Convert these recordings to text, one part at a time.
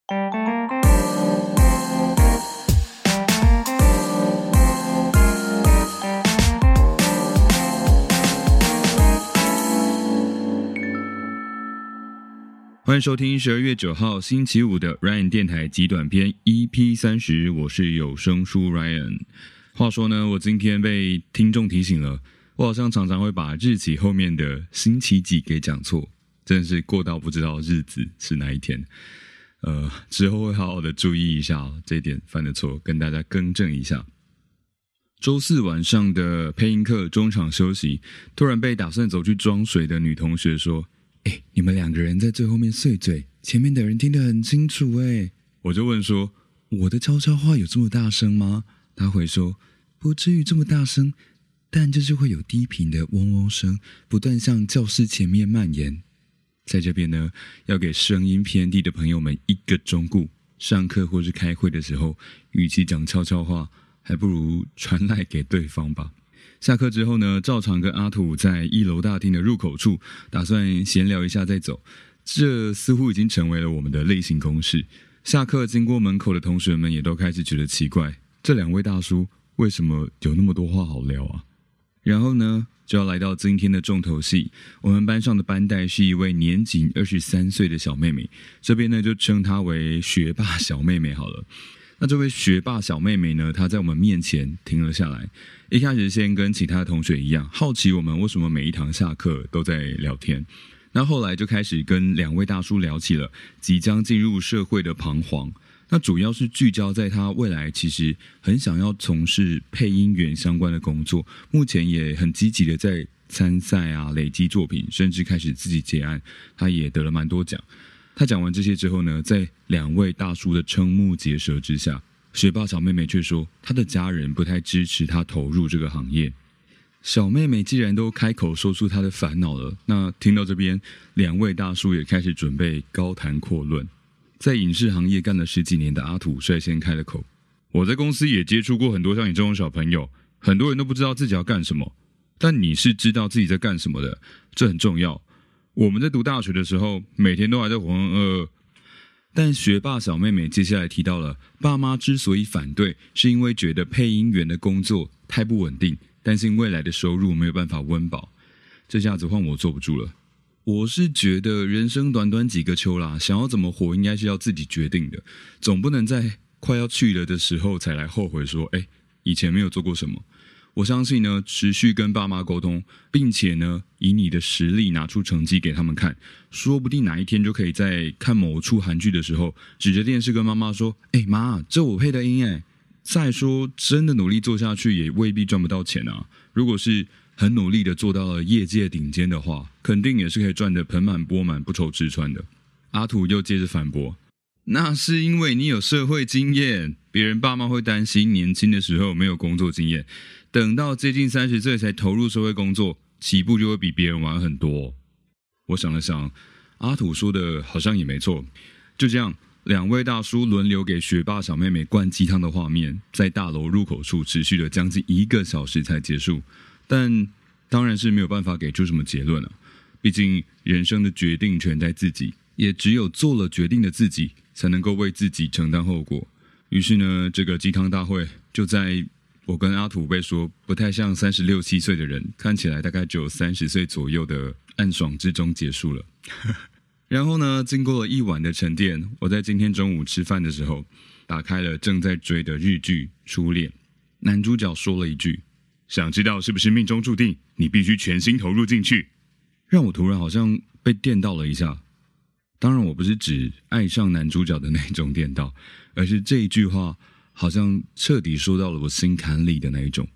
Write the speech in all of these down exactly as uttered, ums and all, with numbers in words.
欢迎收听十二月九号星期五的 Ryan 电台极短篇 E P 三十， 我是有声书 Ryan。 话说呢，我今天被听众提醒了，我好像常常会把日期后面的星期几给讲错，真的是过到不知道日子是哪一天。呃，之后会好好的注意一下、哦、这一点犯的错，跟大家更正一下。周四晚上的配音课中场休息，突然被打算走去装水的女同学说，欸，你们两个人在最后面碎嘴，前面的人听得很清楚欸。我就问说，我的悄悄话有这么大声吗？他回说，不至于这么大声，但就是会有低频的嗡嗡声，不断向教室前面蔓延。在这边呢，要给声音偏低的朋友们一个忠告，上课或是开会的时候，与其讲悄悄话，还不如传来给对方吧。下课之后呢，照常跟阿土在一楼大厅的入口处打算闲聊一下再走，这似乎已经成为了我们的例行公事。下课经过门口的同学们也都开始觉得奇怪，这两位大叔为什么有那么多话好聊啊？然后呢，就要来到今天的重头戏，我们班上的班代是一位年仅二十三岁的小妹妹，这边呢就称她为学霸小妹妹好了。那这位学霸小妹妹呢，她在我们面前停了下来，一开始先跟其他的同学一样，好奇我们为什么每一堂下课都在聊天。那后来就开始跟两位大叔聊起了即将进入社会的彷徨，那主要是聚焦在她未来其实很想要从事配音员相关的工作，目前也很积极的在参赛啊，累积作品，甚至开始自己接案，她也得了蛮多奖。他讲完这些之后呢，在两位大叔的瞠目结舌之下，学霸小妹妹却说她的家人不太支持她投入这个行业。小妹妹既然都开口说出她的烦恼了，那听到这边，两位大叔也开始准备高谈阔论。在影视行业干了十几年的阿土率先开了口，我在公司也接触过很多像你这种小朋友，很多人都不知道自己要干什么，但你是知道自己在干什么的，这很重要。我们在读大学的时候，每天都还在浑浑噩噩。但学霸小妹妹接下来提到了，爸妈之所以反对，是因为觉得配音员的工作太不稳定，担心未来的收入没有办法温饱。这下子换我坐不住了。我是觉得人生短短几个秋啦，想要怎么活应该是要自己决定的，总不能在快要去了的时候才来后悔说，欸，以前没有做过什么。我相信呢，持续跟爸妈沟通，并且呢，以你的实力拿出成绩给他们看，说不定哪一天就可以在看某出韩剧的时候，指着电视跟妈妈说，欸，妈，这我配的音耶。再说真的努力做下去也未必赚不到钱啊，如果是很努力的做到了业界顶尖的话，肯定也是可以赚得盆满钵满，不愁吃穿的。阿土又接着反驳，那是因为你有社会经验，别人爸妈会担心年轻的时候没有工作经验，等到接近三十岁才投入社会工作，起步就会比别人晚很多。我想了想，阿土说的好像也没错。就这样，两位大叔轮流给学霸小妹妹灌鸡汤的画面，在大楼入口处持续了将近一个小时才结束。但当然是没有办法给出什么结论了、啊，毕竟人生的决定权在自己，也只有做了决定的自己，才能够为自己承担后果。于是呢，这个鸡汤大会就在我跟阿土被说不太像三十六七岁的人，看起来大概只有三十岁左右的暗爽之中结束了。然后呢，经过了一晚的沉淀，我在今天中午吃饭的时候，打开了正在追的日剧《初恋》，男主角说了一句，想知道是不是命中注定，你必须全心投入进去，让我突然好像被电到了一下。当然我不是指爱上男主角的那种电到，而是这一句话好像彻底说到了我心坎里的那一种。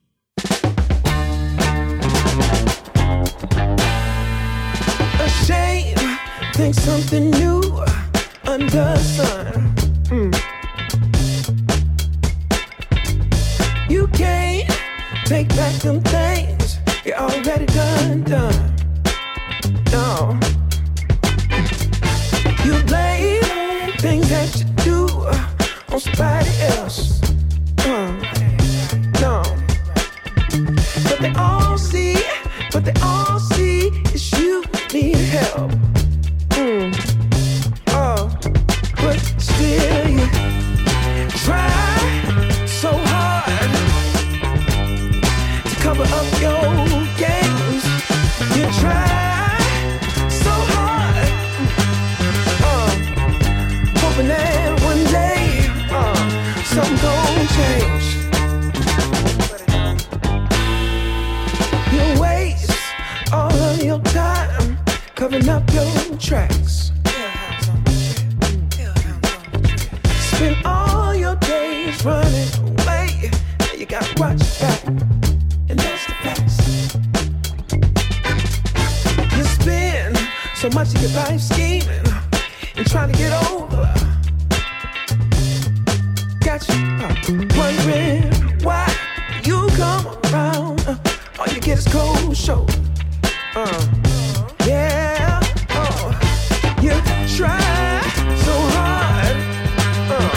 Think something new under the sun. Mm. You can't take back them things you already done, done. No. You blame things that you do on somebody else. Uh, no. But they all see, but they all see is you need help.Mm. Oh, but change. You waste all of your time covering up your tracks. Spend all your days running away. Now you gotta watch your back, and that's the facts. You spend so much of your life scheming and trying to get over. Got you wondering why you come around. Uh, all you get is cold shoulder. Uh, yeah, oh, you try so hard uh,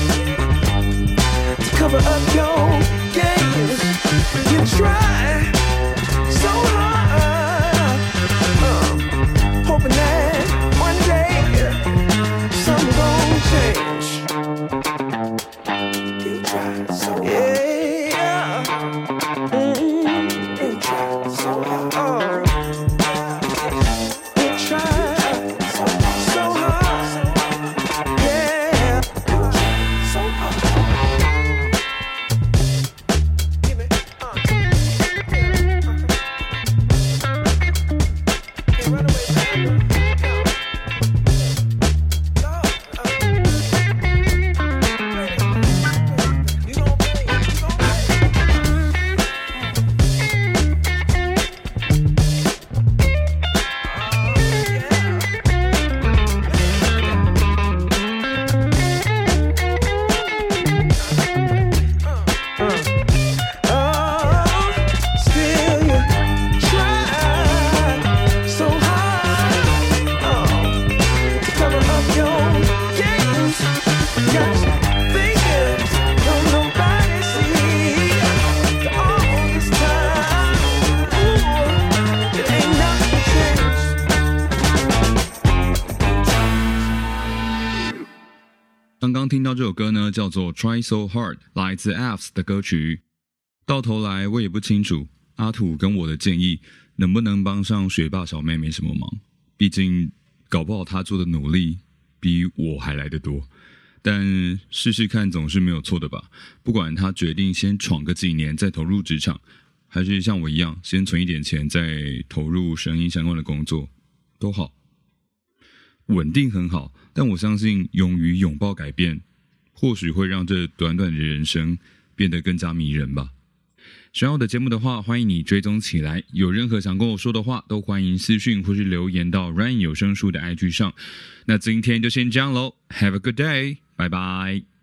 to cover up your games. You try so hard, uh, hoping that one day something gon' change. You try so hard, yeah. Mm-hmm. You try so hard. Oh. You try so, so hard, yeah. You try so hard. Give me, uh. Can't run away, baby. 刚刚听到这首歌呢，叫做 Try So Hard， 来自 Apps 的歌曲。到头来我也不清楚阿土跟我的建议能不能帮上学霸小妹妹什么忙，毕竟搞不好他做的努力比我还来得多。但试试看总是没有错的吧，不管他决定先闯个几年再投入职场，还是像我一样先存一点钱再投入声音相关的工作，都好。稳定很好，但我相信勇于拥抱改变，或许会让这短短的人生变得更加迷人吧。喜欢我的节目的话，欢迎你追踪起来。有任何想跟我说的话，都欢迎私讯或是留言到 Ryan 有声书的 I G 上。那今天就先这样咯， Have a good day， 拜拜。